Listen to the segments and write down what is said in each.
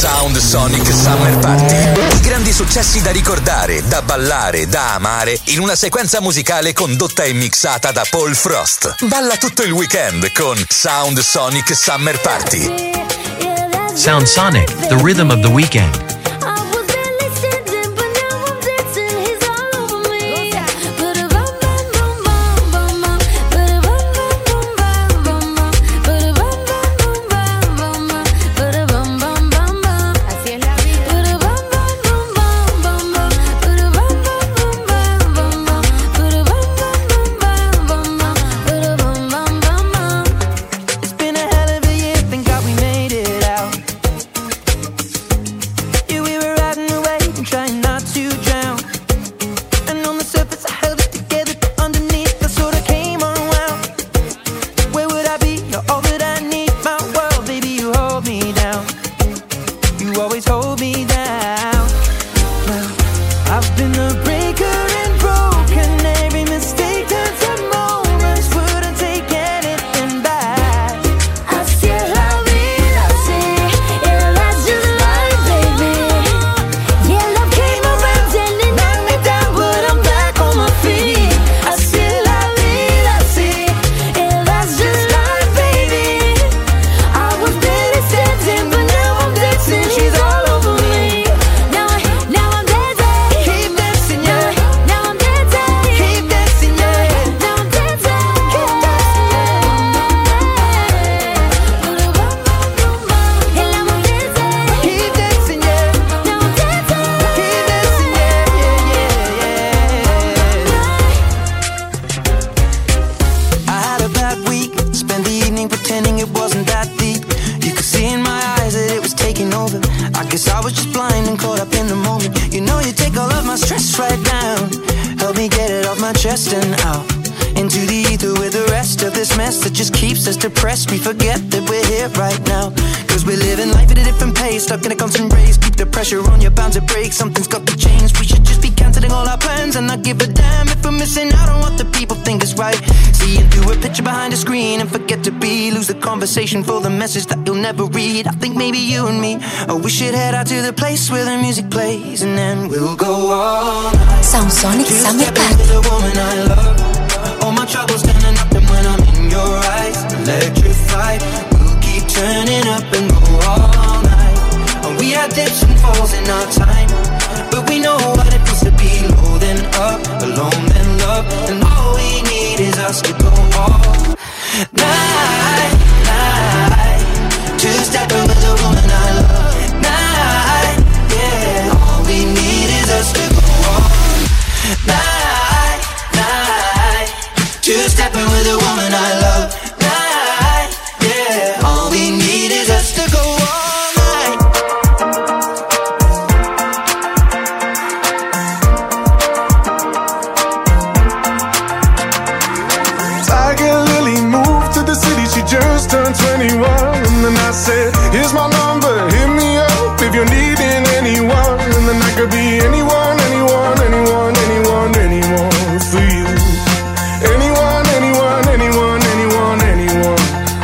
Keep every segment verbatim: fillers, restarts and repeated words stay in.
Sound Sonic Summer Party. I grandi successi da ricordare, da ballare, da amare in una sequenza musicale condotta e mixata da Paul Frost. Balla tutto il weekend con Sound Sonic Summer Party. Sound Sonic, the rhythm of the weekend. We forget that we're here right now. Cause we're living life at a different pace, stuck in a constant race. Keep the pressure on, you're bound to break. Something's got to change. We should just be cancelling all our plans and not give a damn if we're missing out on what the people think is right. Seeing through a picture behind a screen and forget to be. Lose the conversation for the message that you'll never read. I think maybe you and me, oh, we should head out to the place where the music plays, and then we'll go all night. Sound Sonic Summer Party. The woman I love, all my troubles standing up, and when I'm in your eyes, electrified. We'll keep turning up and go all night. And we had dips and falls in our time, but we know what it feels to be low then up, alone then love. And all we need is us to go all night, night. Two-step with the woman I love. Night, yeah. All we need is us to go all night, night. Two-stepping with the woman I love. All we need is us to go all night. Tiger Lily moved to the city, she just turned twenty-one. And then I said, here's my number, hit me up if you're needing anyone. And then I could be anyone, anyone, anyone, anyone, anyone for you. Anyone, anyone, anyone, anyone, anyone.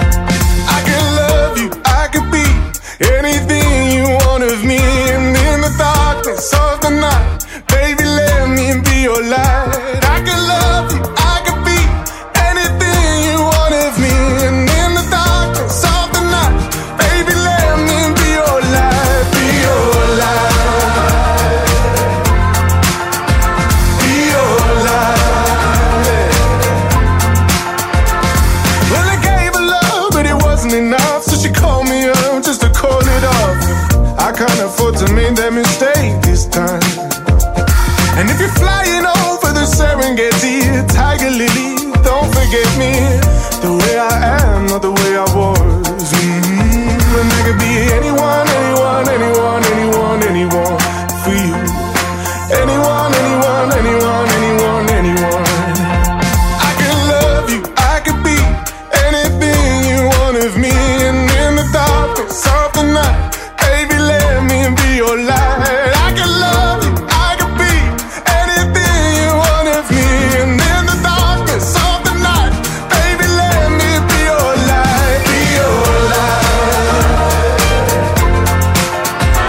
Anything you want of me, and in the darkness of the night, baby, let me be your light. I can love you, I can be anything you want of me, and in the darkness of the night, baby, let me be your light, be your light, be your light. Well, I gave her love, but it wasn't enough, so she called me up just to call it off. I can't afford to make that mistake this time. And if you're flying over the Serengeti, Tiger Lily, don't forget me. The way I am, not the way I was. Mm-hmm. And I could be anyone, anyone, anyone, anyone, anyone for you. Anyone, anyone, anyone, anyone, anyone. I can love you, I could be anything you want of me. And in the darkness of the night, baby, let me be your light. I can love you, I can be anything you want of me. And in the darkness of the night, baby, let me be your light, be your light,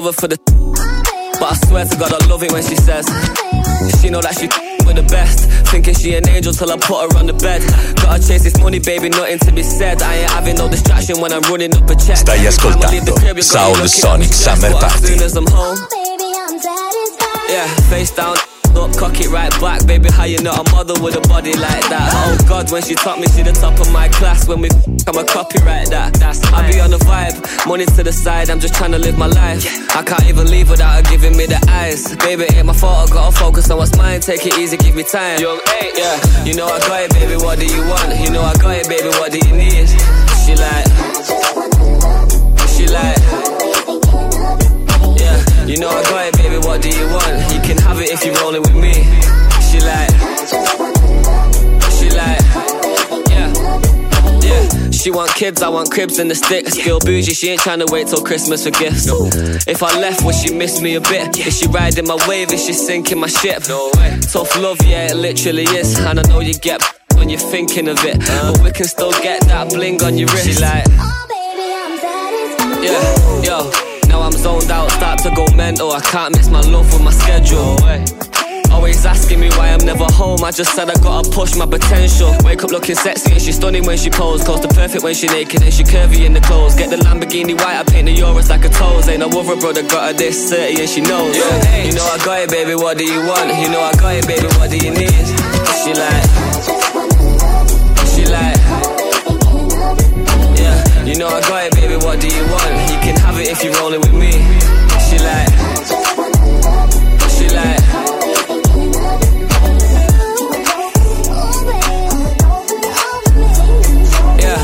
love her for the, but I swear to God I love it when she says she know that she with the best, thinking she an angel till I put her on the bed. Gotta chase this money, baby, nothing to be said. I ain't having no distraction when I'm running up a check. Stai ascoltando Sound Sonic Summer Party. As soon as I'm home, yeah, face down, up, cock it right back. Baby, how you not a model with a body like that? Oh God, when she taught me, she the top of my class. When we I'm a copyright that. That's I be on the vibe, money to the side. I'm just trying to live my life. I can't even leave without her giving me the eyes. Baby, ain't my fault, I gotta focus on what's mine. Take it easy, give me time. Young eight, yeah. You know I got it, baby, what do you want? You know I got it, baby, what do you need? She like, she like, yeah. You know I got it, baby, what do you want? You can have it if you're rolling with me. She like, she like, yeah, yeah. She want kids, I want cribs and the sticks. Still bougie, she ain't trying to wait till Christmas for gifts. No. If I left, would she miss me a bit? Is she riding my wave? Is she sinking my ship? No way. Tough love, yeah, it literally is. And I know you get when you're thinking of it, uh. but we can still get that bling on your wrist. She like, oh baby, I'm satisfied. Yeah, yo. Now I'm zoned out, start to go mental. I can't miss my love with my schedule. Always asking me why I'm never home. I just said I gotta push my potential. Wake up looking sexy and she's stunning when she pose. Close to perfect when she naked and she curvy in the clothes. Get the Lamborghini white, I paint the Euros like a toes. Ain't no other brother got her this thirty and she knows. Yeah. You know I got it, baby, what do you want? You know I got it, baby, what do you need? She like, she like, yeah. You know I got it, baby, what do you want? You can have it if you're rolling with me. She like, she like, yeah.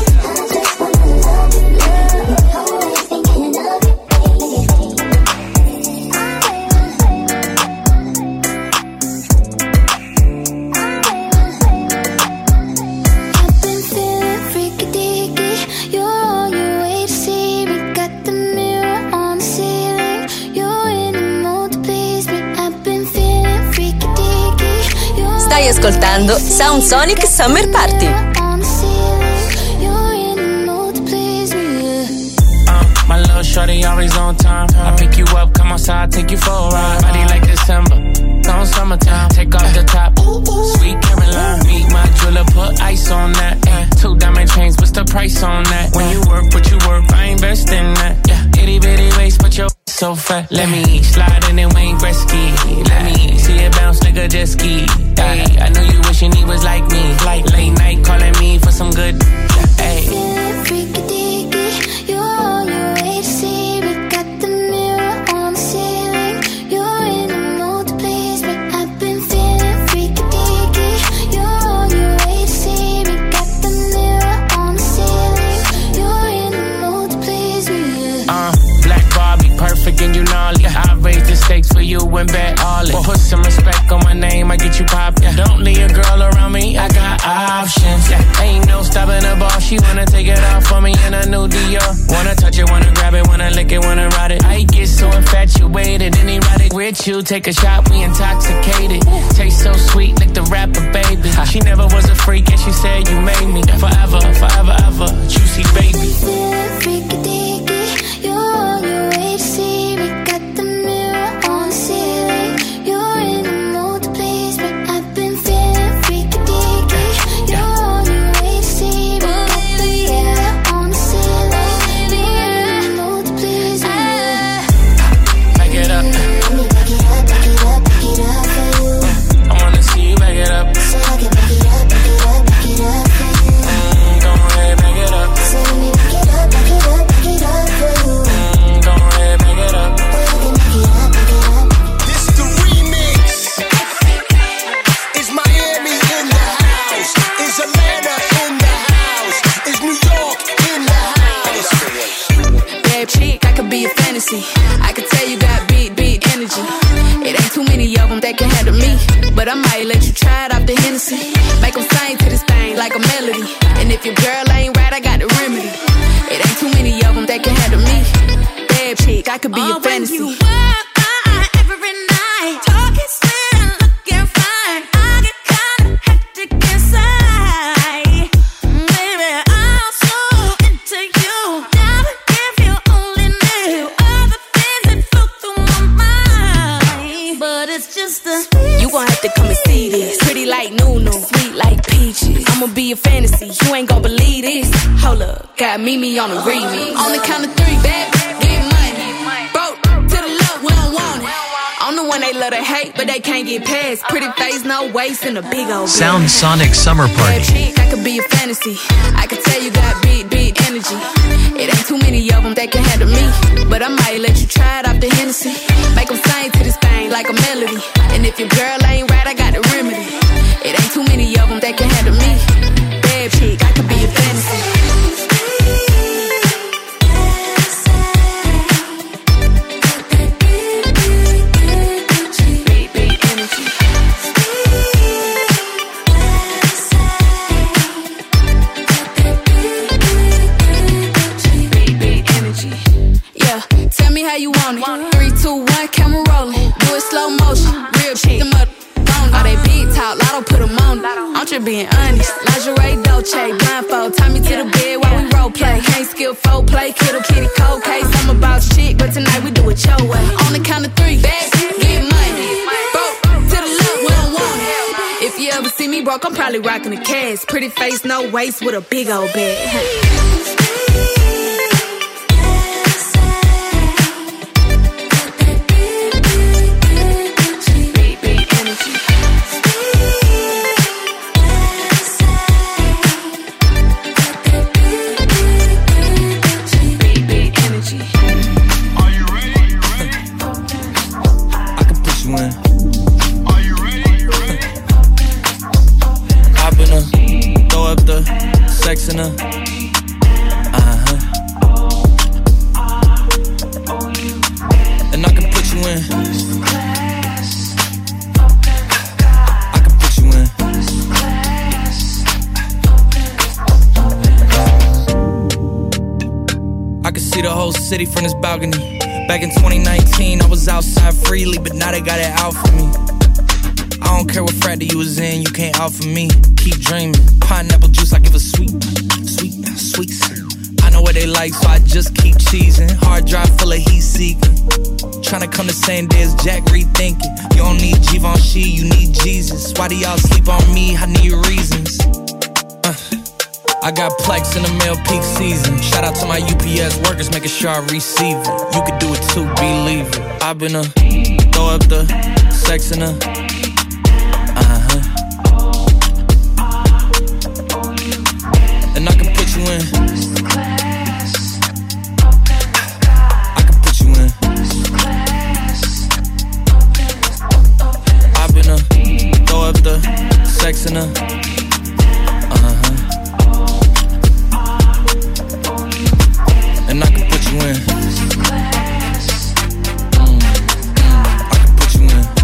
Stai ascoltando Sound Sonic Summer Party. My little shorty always on time. I pick you up, come outside, take you for a ride. Body like December, on summertime. Take off the top, sweet Caroline. Meet my jeweler, put ice on that. Yeah. Two diamond chains, what's the price on that? When you work, what you work, I invest in that. Yeah. Itty bitty waist, but your so fat. Let me slide in and Wayne Gretzky. Let me see it bounce like a jet ski. Hey, I know you wishing he was like me. Like late night calling me for some good. Hey. And you gnarly, I raise the stakes for you and bet all it. Put some respect on my name, I get you pop. Yeah. Don't leave a girl around me, I got options. Yeah. Ain't no stopping the ball, she wanna take it off for me in a new Dior. Wanna touch it, wanna grab it, wanna lick it, wanna ride it. I get so infatuated, and erotic with you. Take a shot, we intoxicated. Taste so sweet, like the rapper, baby. She never was a freak, and she said you made me forever, forever, ever. Juicy baby. I can tell you got beat, beat energy. It ain't too many of them that can handle me, but I might let you try it off the Hennessy. Make them sing to this thing like a melody. And if your girl ain't right, I got the remedy. It ain't too many of them that can handle me. Bad chick, I could be oh, your fantasy. When you walk by every night, talking sweet and looking fine, I get kinda hectic inside. Baby, I'm so into you. Now if you only knew all the things that flow a fantasy. You ain't gon' believe this. Hold up, got Mimi on the remix. On the count of three, back, get money. Broke to the left, we don't want it. I'm the one they love to hate, but they can't get past. Pretty face, no waist, and a big old Sound Sonic Summer Party. Chick, I could be a fantasy. I could tell you got big, big energy. It ain't too many of them that can handle me, but I might let you try it off the Hennessy. Make them sing to this thing like a melody. And if your girl ain't right, I got the remedy. It ain't too many of them that can handle me. Bad chick, I could be a fantasy. How you want it? Three, two, one, camera rolling. Do it slow motion. Real shit. Them up on all they big talk. Lotto put them on. I'm just being honest. Lingerie, Dolce, blindfold. Tie me to the bed while we role play. Can't skill folk play. Kittle kitty cold case. I'm about shit, but tonight we do it your way. On the count of three, back, get money. Broke to the left, we don't want it. If you ever see me broke, I'm probably rocking a cast. Pretty face, no waist, with a big old bag. In her. Uh-huh. And I can put you in. I can put you in. I can see the whole city from this balcony. Back in twenty nineteen, I was outside freely, but now they got it out for me. I don't care what frat you was in, you can't out for me. Keep dreaming. Pineapple juice, I give a sweet, sweet, sweet. I know what they like, so I just keep cheesing. Hard drive full of heat seeking. Tryna come the same day as Jack, rethinking. You don't need Givenchy, you need Jesus. Why do y'all sleep on me? I need reasons. Uh, I got Plex in the mail peak season. Shout out to my U P S workers, making sure I receive it. You could do it too, believe it. I've been a throw up the sex in her. And I can put you in. I can put you in. I've been a throw up the sex in her. Uh-huh. And I can put you in. Mm. I can put you in.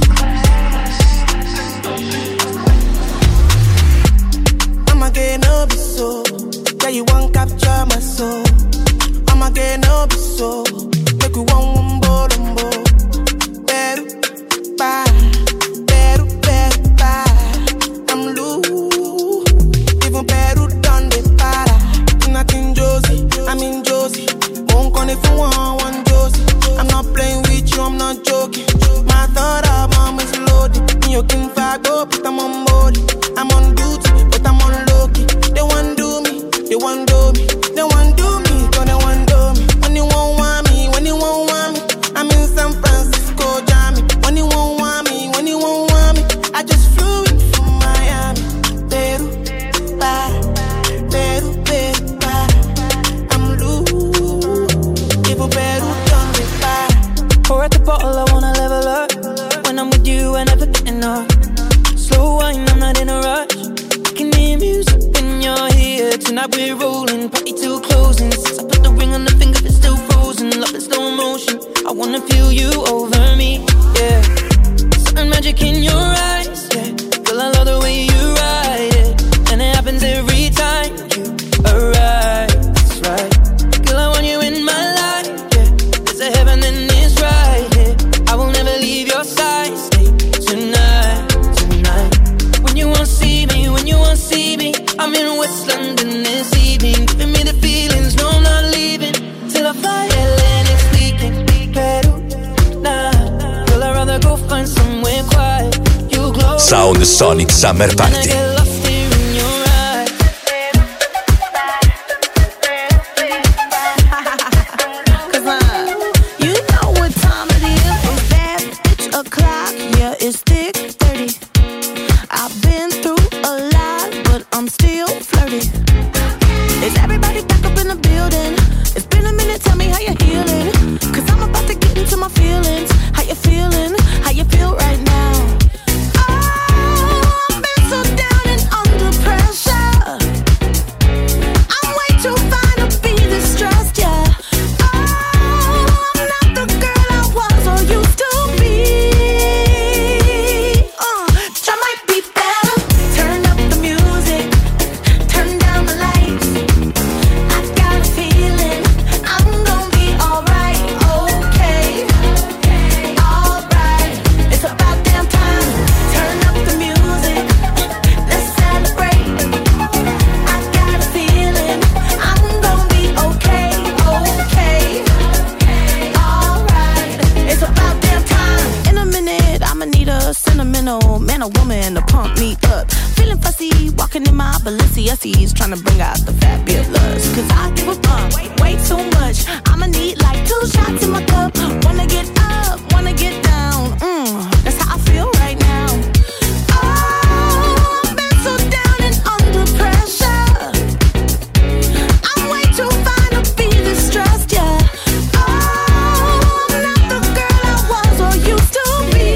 I'ma get no be so. Yeah, you won't capture my soul. I'ma get no be so. Make you want one more, one more. Better, bye. Better, better, bye. I'm loose. Even better done the para. Nothing Josie, I'm in Josie. Won't call if you want one Josie. I'm not playing with you, I'm not joking. My thought of mom is loaded. You can fire go, but I'm on board. I'm on duty, but I'm on low key. They want do me. They want do me, they want do me, so they want do me. When you won't want me, when you won't want me, I'm in San Francisco, Jammy. When you won't want me, when you won't want me, I just flew in from Miami. Peru, para, Peru, Peru, para. I'm loose, even Peru done me para. Pour out the bottle, I wanna level up. When I'm with you, I never get enough. Slow wine, I'm not in a rush. Can hear music when you're here. Tonight we're rolling, party till closing. Since I put the ring on the finger, it's still frozen. Love in slow motion, I wanna feel you over me, yeah. Certain magic in your eyes, yeah. Girl, I love the way you ride it. And it happens every time you arrive, that's right. Girl, I want you in my life, yeah. There's a heaven and it's right here, yeah. I will never leave your side, stay tonight, tonight. When you won't see me, when you won't see me, I'm in West London this evening, giving me the feelings, no I'm not leaving, till I fly L A next weekend, Peru, nah, girl I'd rather go find somewhere quiet, you glow, Sound Sonic Summer Party. I get lost here in your eyes, G S E's trying to bring out the fabulous. Cause I give a fuck way, way too much. I'ma need like two shots in my cup. Wanna get up, wanna get down. Mm, that's how I feel right now. Oh, I've been so down and under pressure. I'm way too fine to be distressed, yeah. Oh, I'm not the girl I was or used to be.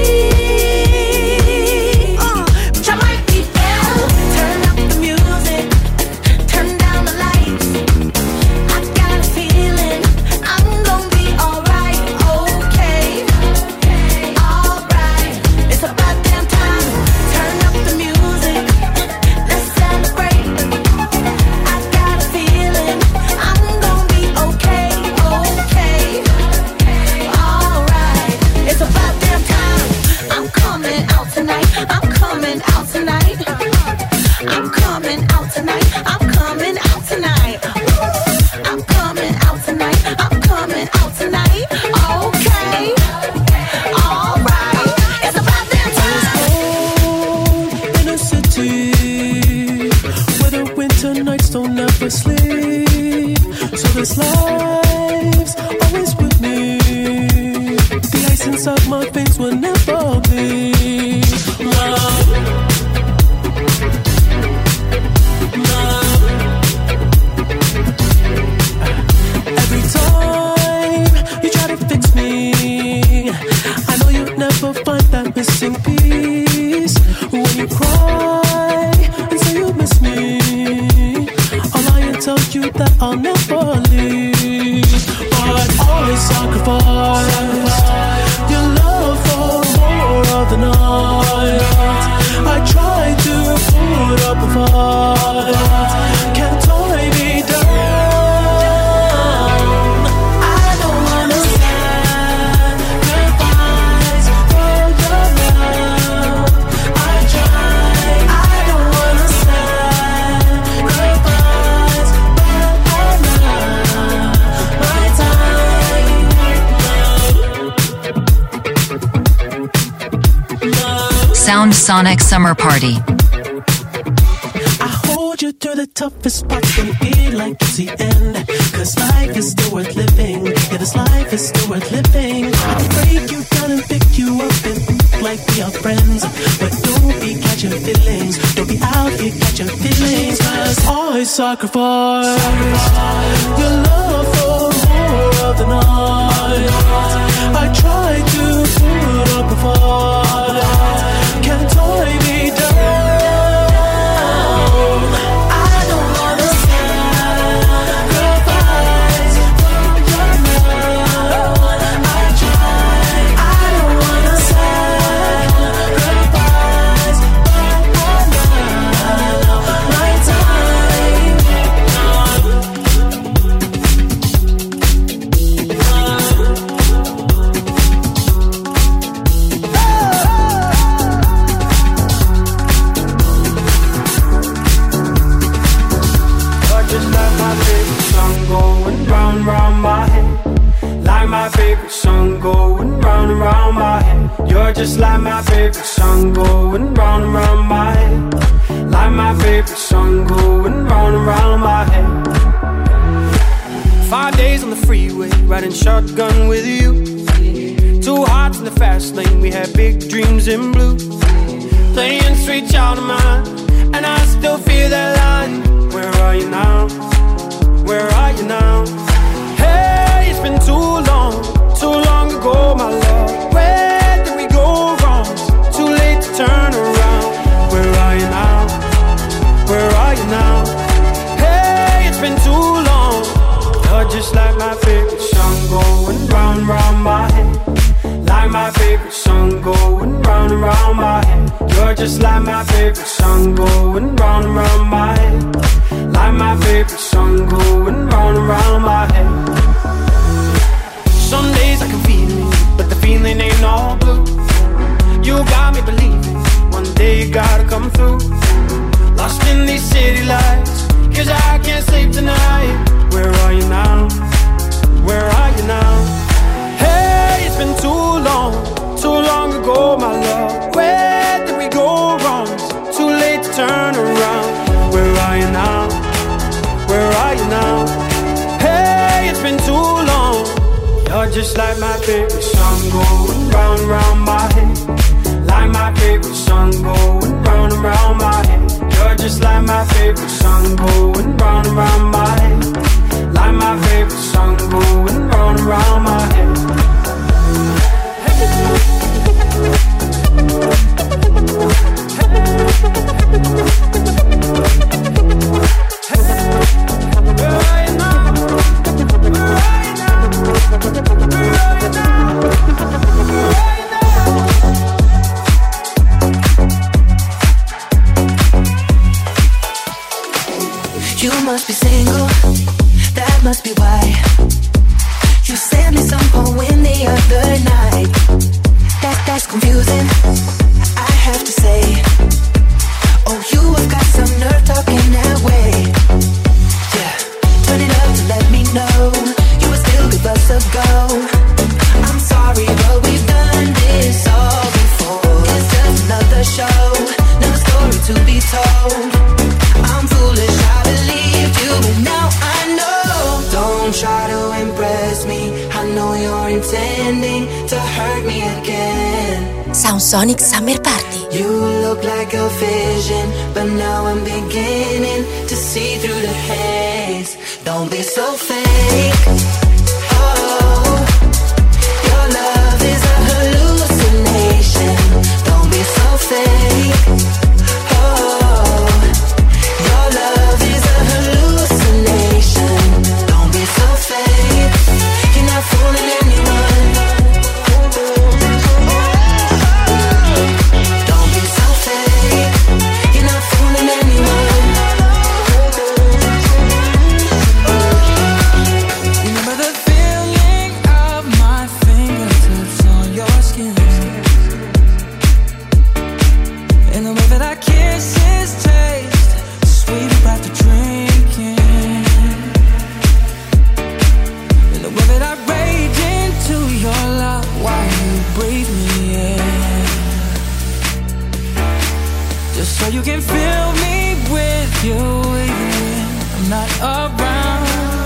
Uh, but I might be better. Turn up the music, turn down the lights. I got a feeling I'm gonna be alright, okay, alright. It's about damn time. Turn up the music, let's celebrate. I got a feeling I'm gonna be okay, okay, alright. It's about damn time. I'm coming out tonight. I'm coming out tonight. I'm coming out tonight. I'm coming out tonight. I'm coming out tonight. I'm coming out tonight. Okay, alright. It's about damn time. In a city where the winter nights don't ever sleep, so this life's always with me. The ice inside my veins will never bleed. Love, love. Every time you try to fix me, I know you'll never find that missing piece. When you cry and say you miss me, I'll lie and tell you that I'll never leave. But always sacrifice your love for more of the night. I try to put up a fight, can't tie me down. I don't wanna sacrifice for your love. I try, I don't wanna sacrifice, but I love my time. Sound Sonic Summer Party. I hold you through the toughest parts when you feel like it's the end. Cause life is still worth living. Yeah, this life is still worth living. I can break you down and pick you up and act like we are friends. But don't be catching feelings. Don't be out here catching feelings. Cause I sacrifice, sacrifice your love for more of the night. I try to put up a fight, can't tie me down. I don't wanna sacrifice for your love. I try, I don't wanna sacrifice, but I love my time. Just like my favorite song going round and round my head. Like my favorite song going round and round my head. You're just like my favorite song going round and round my head. Like my favorite song going round and round my head. Five days on the freeway, riding shotgun with you. Two hearts in the fast lane, we had big dreams in blue. Playing sweet child of mine, and I still feel that line. Where are you now? Where are you now? Hey, it's been too long, too long ago, my love. Where did we go wrong? Too late to turn around. Where are you now? Where are you now? Hey, it's been too long. You're just like my favorite song going round and round my head. Like my favorite song going round and round my head. You're just like my favorite song going round and round my head. Like my favorite song going round and round my head. Some days I can feel it, but the feeling ain't all blue. You got me believing one day you gotta come through. Lost in these city lights, cause I can't sleep tonight. Where are you now? Where are you now? Hey, it's been too long, too long ago, my love. Where did we go wrong? Too late to turn around. Where just like my favorite song going round and round my head. Like my favorite song going round and round my head. You're just like my favorite song going round and round my head. Like my favorite song going round and round my head. You must be single, that must be why you sent me some poem the other night. That, that's confusing, I have to say. Oh, you have got some nerve talking that way. Yeah, turn it up to let me know you would still give us a go. I'm sorry, but we've done this all before. It's just another show, another story to be told. I'm foolish, I believed you, but now I know. Don't try to impress me, I know you're intending to hurt me again. Sound Sonic Summer Party. You look like a vision, but now I'm beginning to see through the haze. Don't be so fake. Oh, your love is a hallucination. Don't be so fake. Oh, your love is a hallucination. Don't be so fake. You're not fooling anyone. Don't be so fake. You're not fooling anyone. Remember the feeling of my fingertips on your skin, and the way that our kisses taste sweet after drinking, and the way that I rage into your love while you breathe me in, just so you can fill me with you even when I'm not around.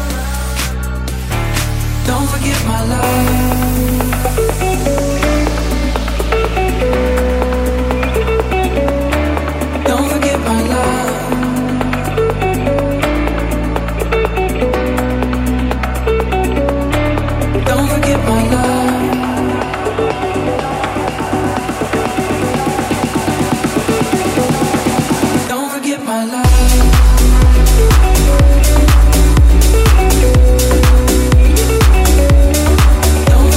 Don't forget my love. Don't forget my love. Don't forget my love. Don't forget my love. Don't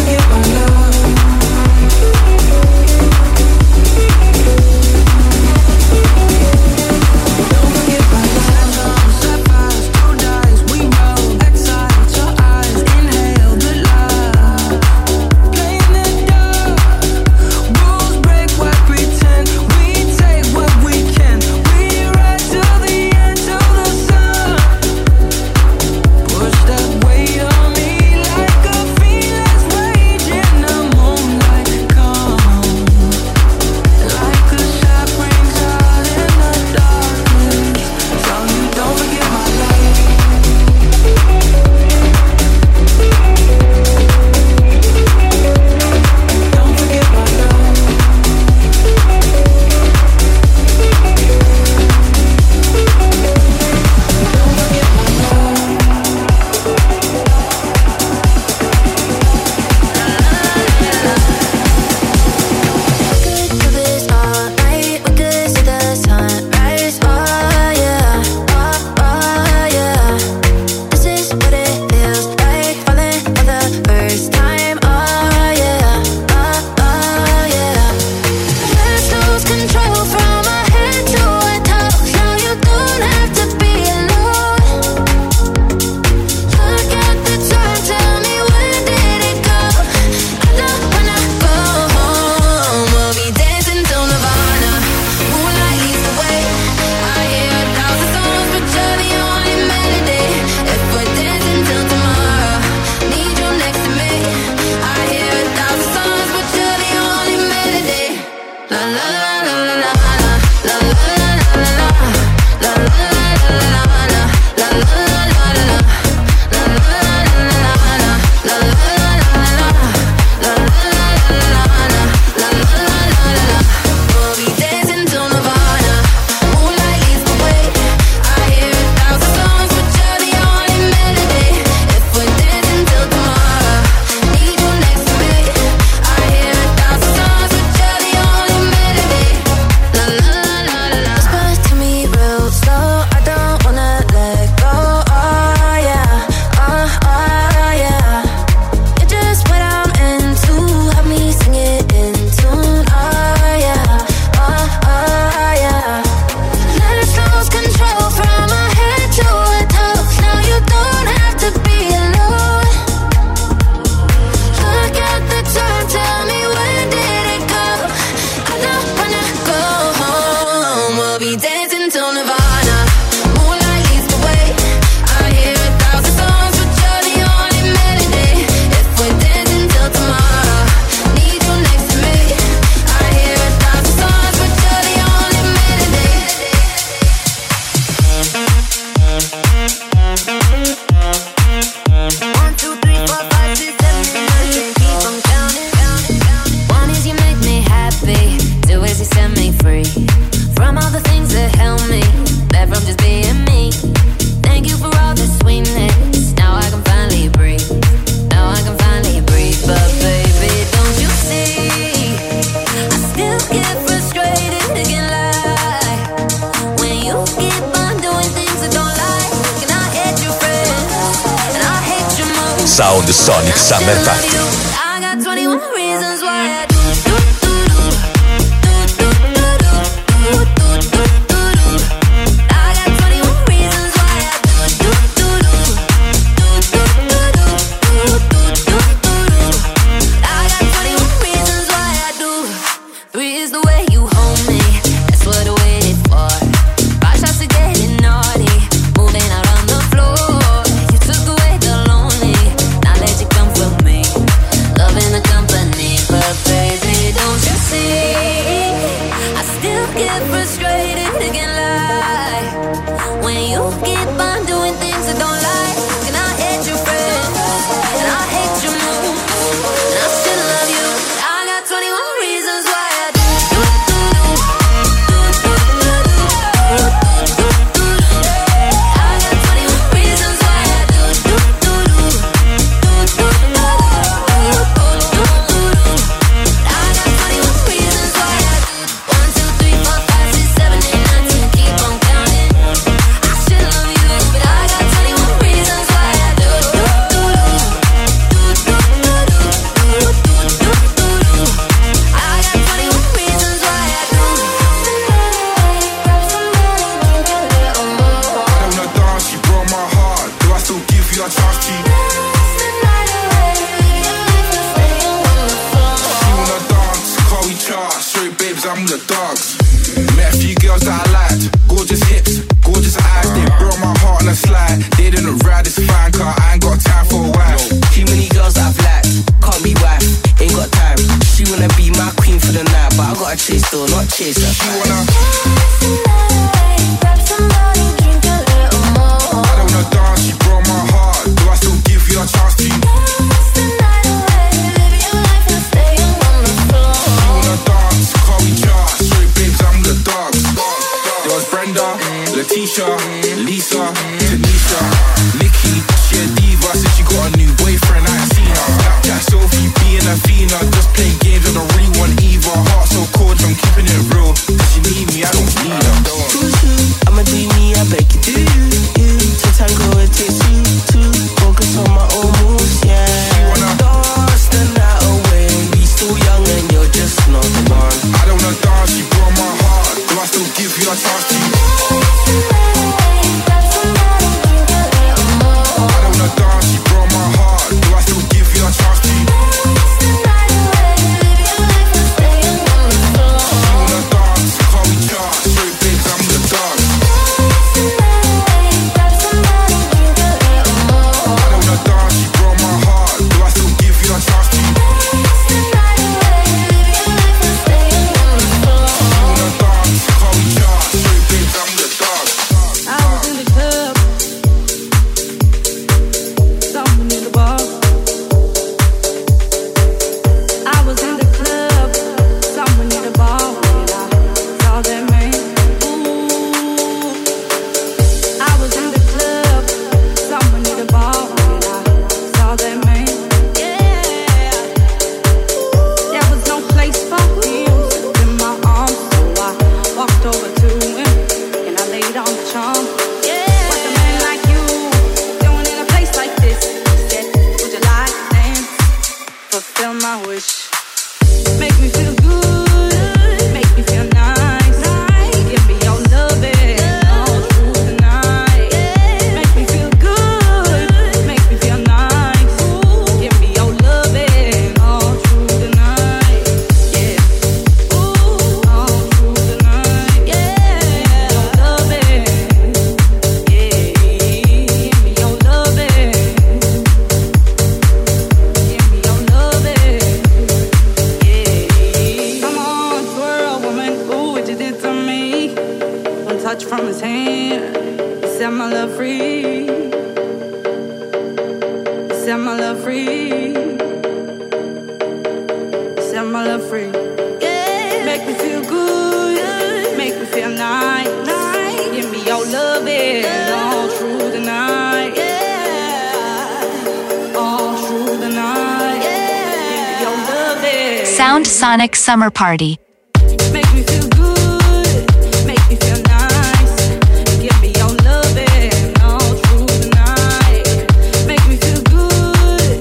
Sound Sonic Summer Party. I got twenty-one reasons why I do. Sound Sonic Summer Party. Make me feel good, make me feel nice. Give me your loving all through the night. Make me feel good,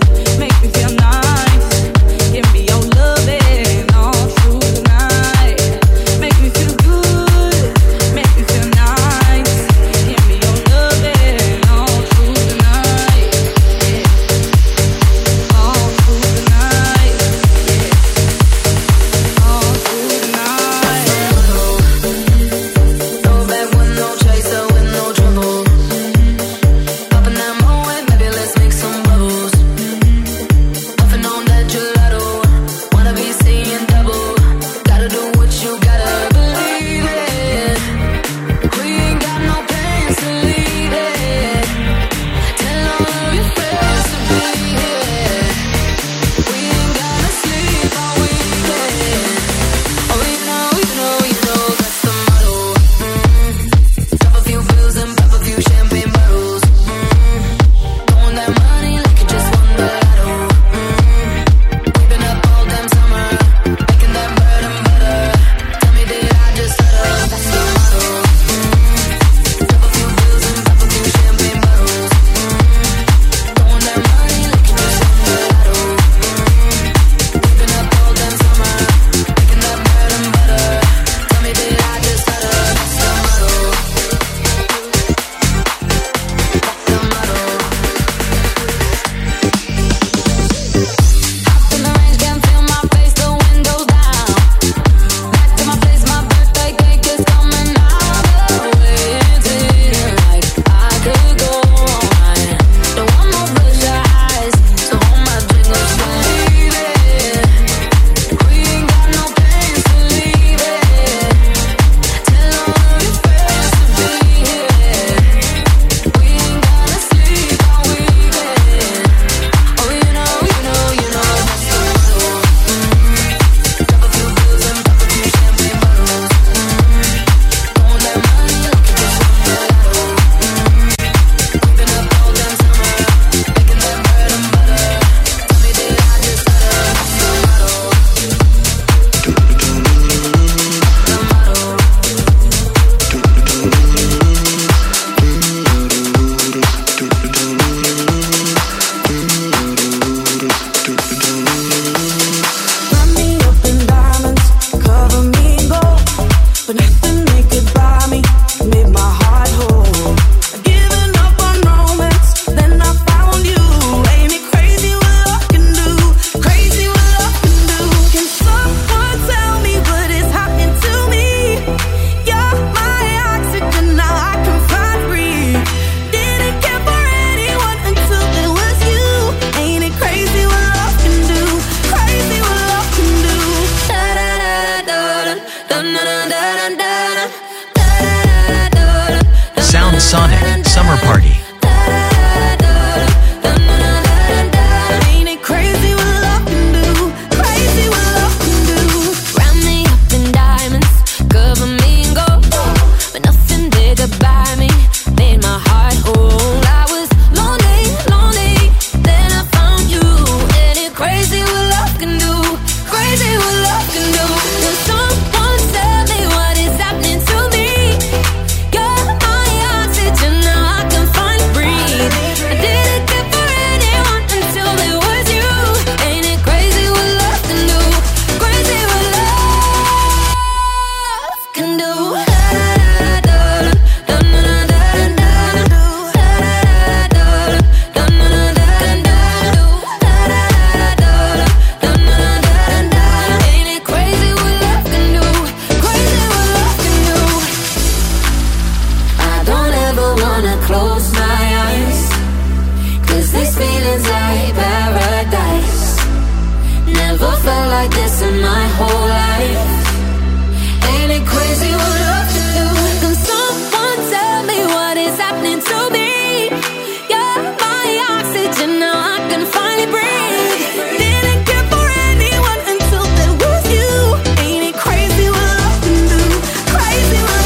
like this in my whole life. Ain't it crazy what love can do? Can someone tell me what is happening to me? You're my oxygen, now I can finally breathe. Didn't care for anyone until there was you. Ain't it crazy what love can do? Crazy what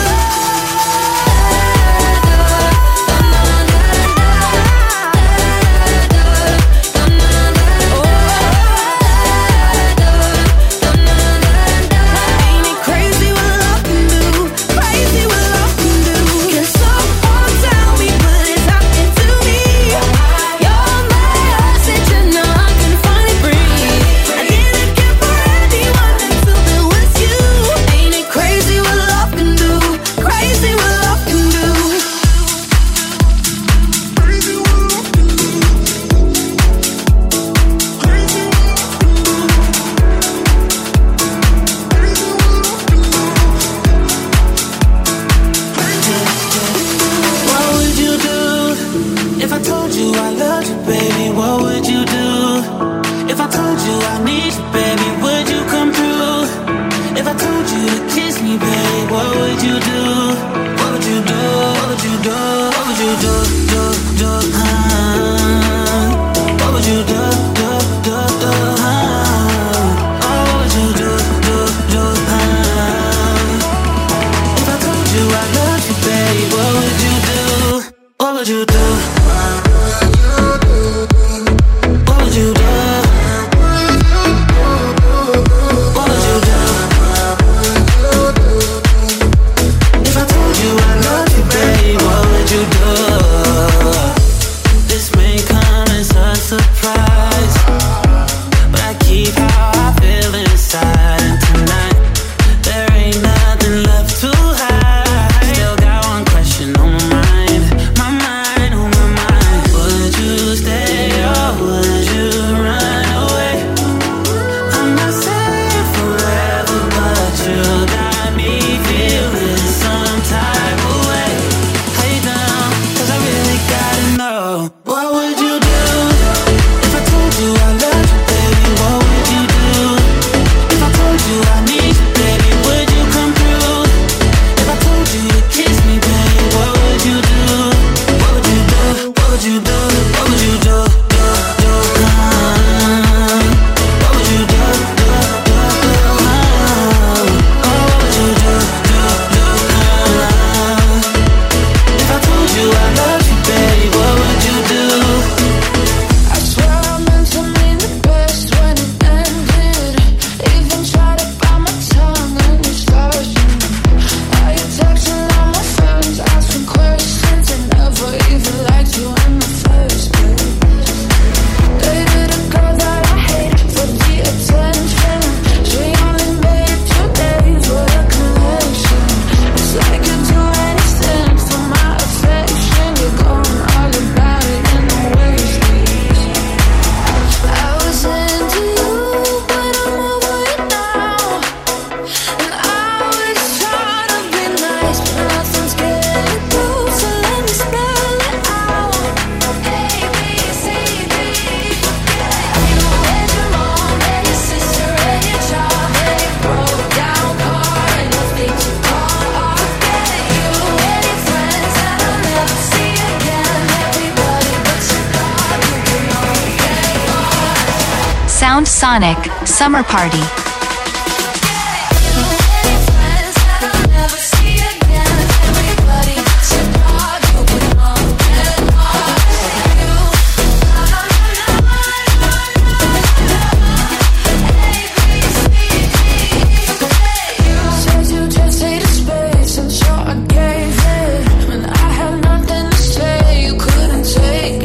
Sound Sonic Summer Party.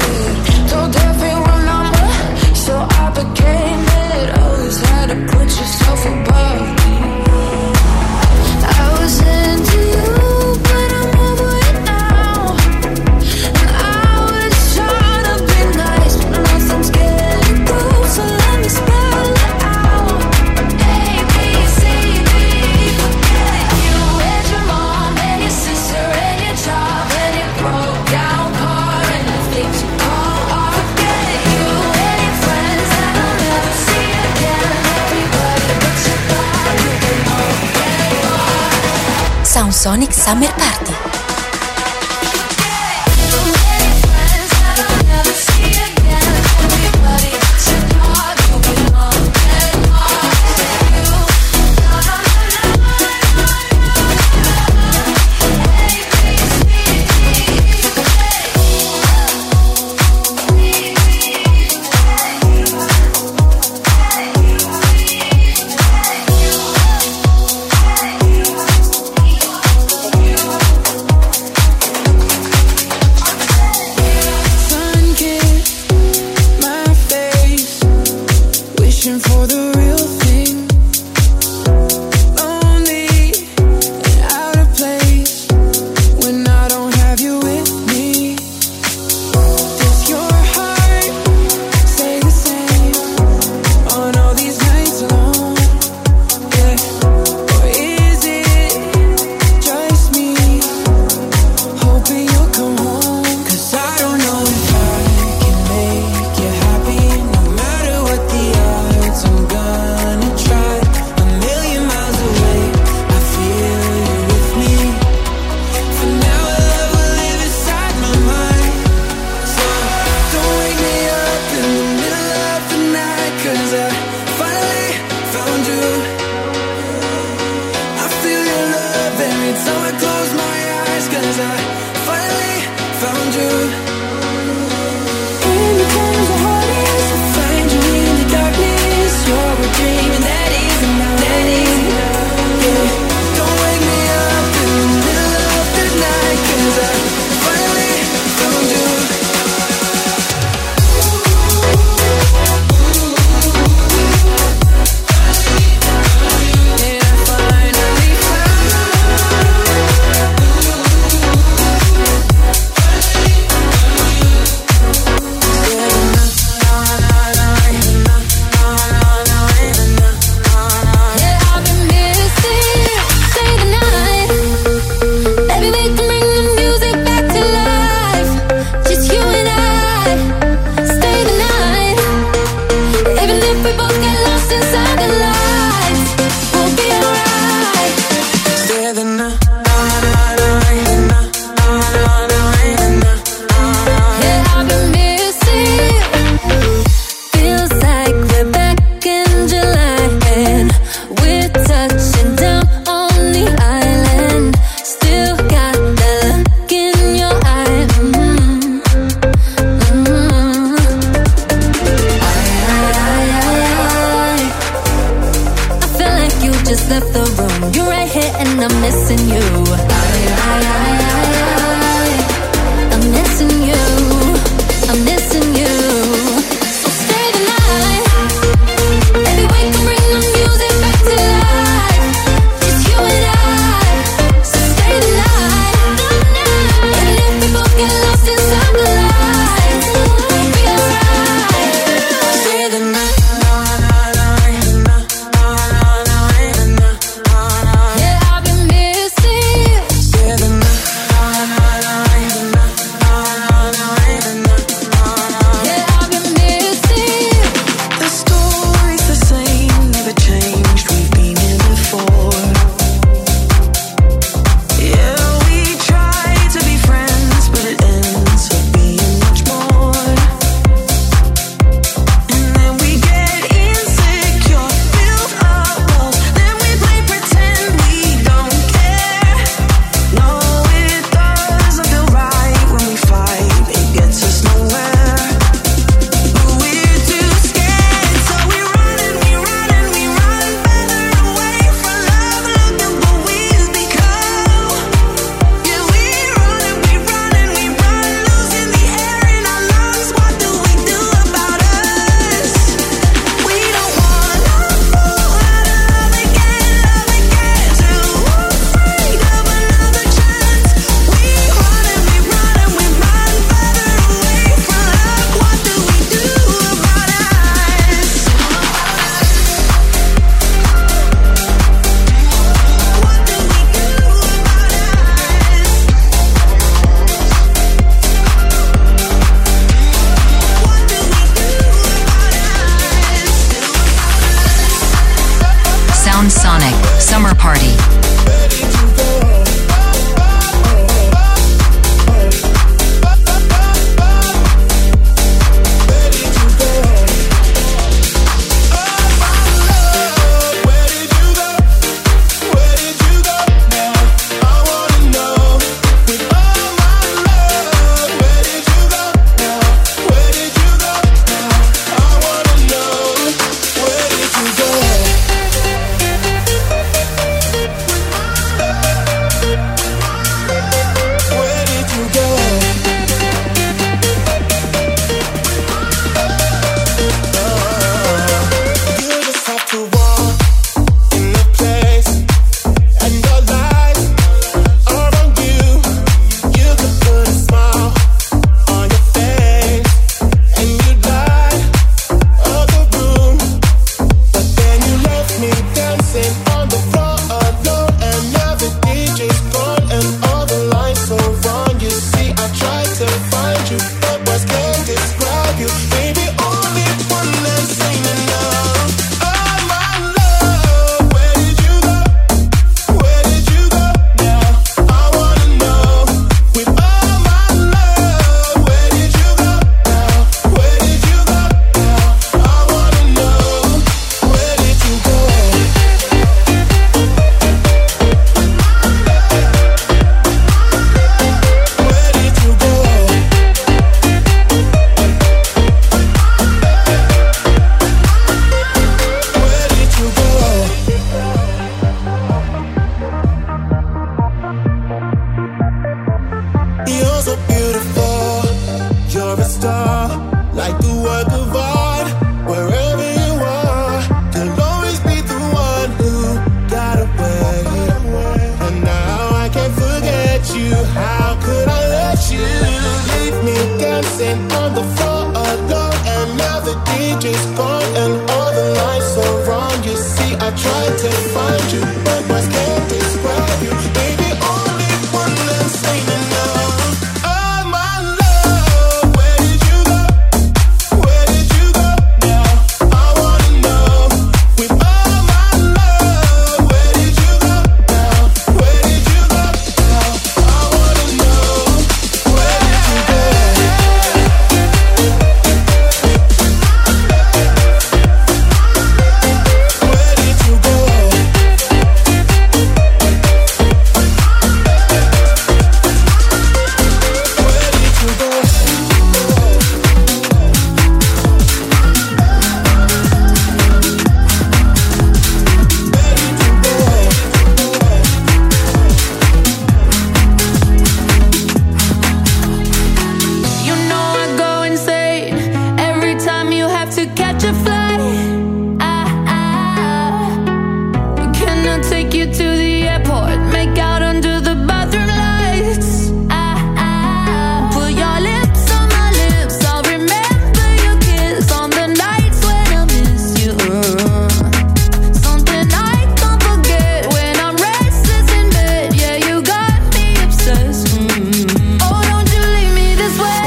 Put your Sonic Summer Party. Sound Sonic Summer Party. just gone and all the lights are wrong. You see, I tried to find you, but my skin describe you. Baby, only one less ain't enough. Oh my love, where did you go? Where did you go now? I wanna know. With all my love, where did you go now? Where did you go now? I wanna know. Where did you go? You know I go insane every time you have to catch a flight. I, I, can I take you to the airport? Make out under the bathroom lights. I, I, put your lips on my lips. I'll remember your kiss on the nights when I miss you. Something I can't forget when I'm restless in bed. Yeah, you got me obsessed. Mm. Oh, don't you leave me this way.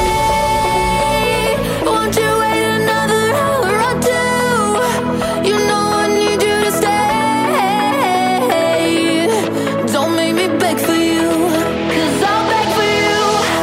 Won't you wait another hour or two? You know I need you to stay. Don't make me beg for you, 'cause I'll beg for you.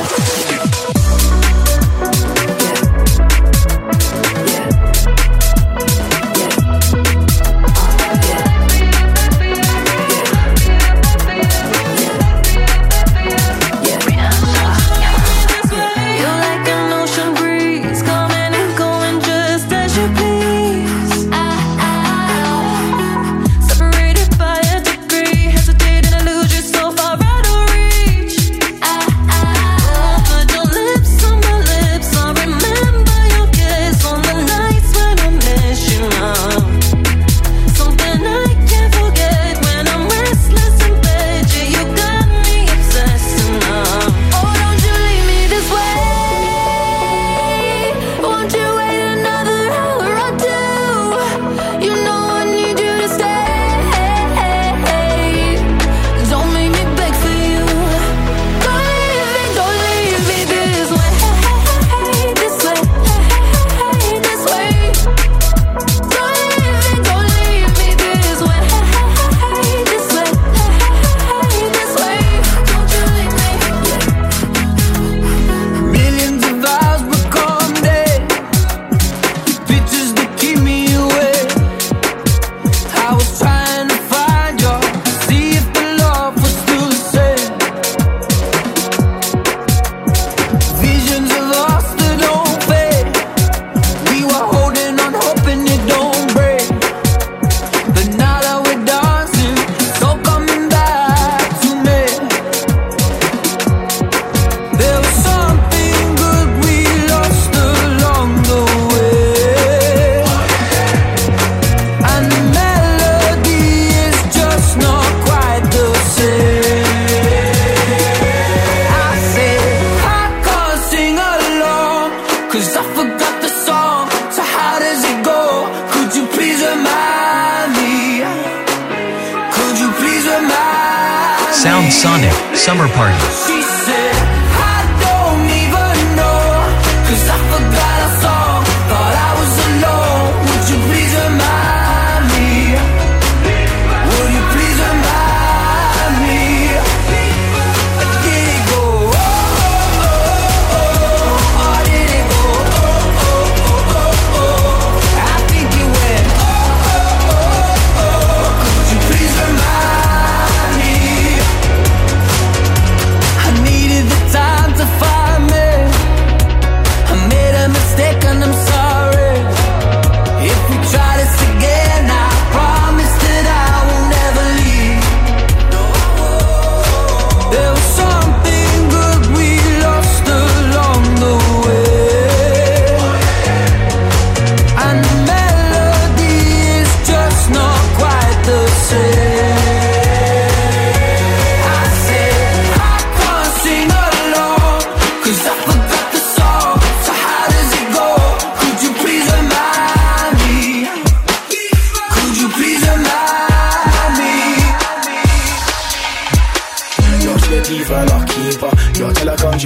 You're like an ocean breeze, coming and going just as you please. I, I, separated by a degree, hesitating to lose you so far out of reach. I, I, put your lips on my lips. I remember your kiss on the nights when I miss you now. Something I can't forget when I'm restless in bed. Yeah, you got me obsessed now. Oh, don't you leave me this way. Won't you wait another hour or two? You know I need you to stay. Don't make me beg for you. Don't leave me, don't leave me this way. This way, this way. Don't leave me, don't leave me this way. This way, this way. Don't you leave me. Millions of vows become dead. Pictures that keep me awake. I was trying to find you, see if the love was still the same. Visions of us that don't fade. We were holding on, hoping it don't break. But now that we're dancing, it's all coming back to me. There was something good we lost along the way, and the melody is just not quite the same. I said I can't sing along, 'cause I forgot the song. So how does it go? Could you please remind me? Could you please remind me? Sound Sonic Summer Party. She said, I don't even know, 'cause I forgot our song. Thought I was alone. Would you please remind me? Would you please remind me? Did it go? Oh, oh, oh, oh. Or did it go? Oh, oh, oh, oh, oh. I think it went. Oh, oh, oh, oh. Could you please remind me? I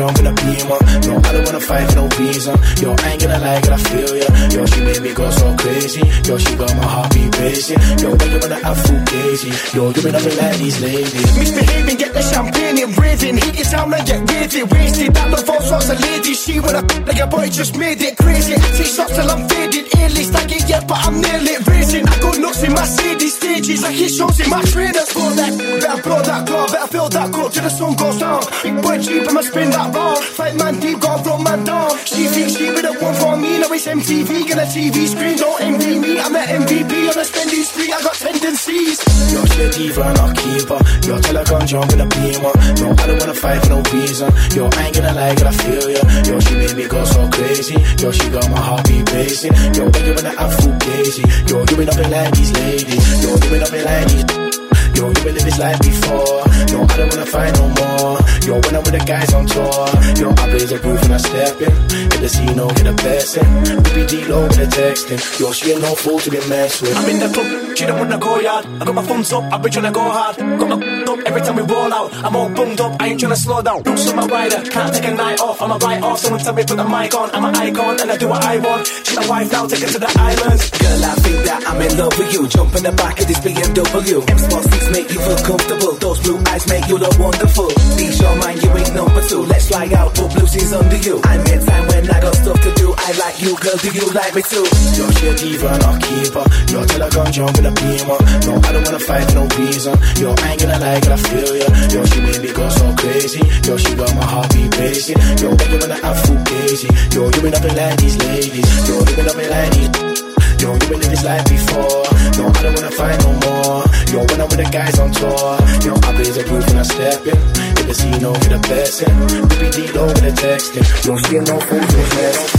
jump in a beamer. No, I don't wanna fight for no reason. Yo, I ain't gonna lie, girl, I feel ya. Yo, she made me go so crazy. Yo, she got my heartbeat racing. Yo, when you wanna have full crazy. Yo, you been up me like these ladies. Misbehaving, get the champagne and raving. Hit your town and get raving. Wasted, that love falls was a lady. She wanna like a boy just made it crazy. Take shots till I'm faded. A-list, I get yet, but I'm nearly racing. I go nuts in my city stages. Like it shows in my trainers. Blow that, better blow that car, better fill that cup till the sun goes down. Big boy cheap, I'ma spin that round. Fight man deep, gotta throw man down. She thinks she be the one for me. Now it's M T V, get a T V screen. Don't envy me, I'm the M V P on a spending spree. I got tendencies. Yo, she a diva and I'll keep her. Yo, tell her come jump in a beamer. No, I don't wanna fight for no reason. Yo, I ain't gonna lie, girl, I feel ya. Yo, she made me go so crazy. Yo, she got my heartbeat racing. Yo, when you wanna have full crazy. Yo, you been up in like these ladies. Yo, you been up in like these. Yo, you been live this life before. No, I don't wanna fight no more. Yo, when I'm with the guys on tour. Yo, I blaze a roof and I step in. Hit the scene, no, get a blessing. B B D low with the texting. Yo, she ain't no fool to be messed with. I'm in the club, she don't wanna go yard. I got my thumbs up, I've been tryna go hard. Got my up every time we roll out. I'm all bummed up, I ain't tryna slow down. Roots on my rider, can't take a night off. I'm a write off, someone tell me put the mic on. I'm an icon and I do what I want. She's my wife now, take her to the islands. Girl, I think that I'm in love with you. Jump in the back of this B M W. M Sport six make you feel comfortable. Those blue eyes make you look wonderful. Ease your mind, you ain't number two. Let's fly out, put blue jeans under you. I make time when I got stuff to do. I like you, girl, do you like me too? Yo, she a diva and I'll keep her. Yo, tell her come jump in a beamer. No, I don't wanna fight for no reason. Yo, I ain't gonna lie, girl, I feel ya. Yo, she made me go so crazy. Yo, she got my heartbeat racing. Yo, when you wanna have full crazy. Yo, you been up in like these ladies. Yo, you been up in like these. Yo, you been live this life before. No, I don't wanna fight no more. Yo, when I'm with the guys on tour. Yo, I blaze a roof and I step in. Hit the scene, no, get a blessing. B B D low with the texting. Yo, she ain't no fool to be messed.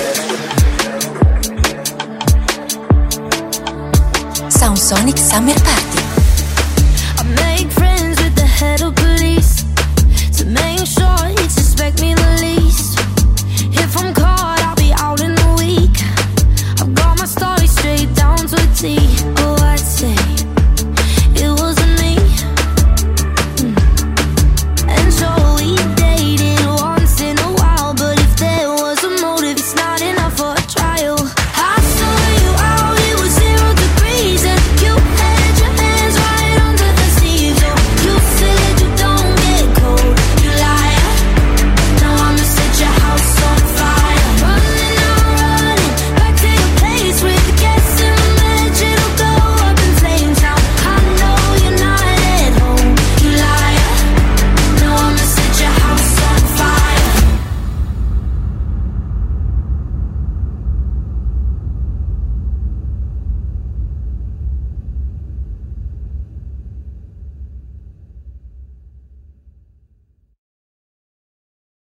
Soundsonic Summer Party. I make friends with the head of police to make sure he suspect me the least.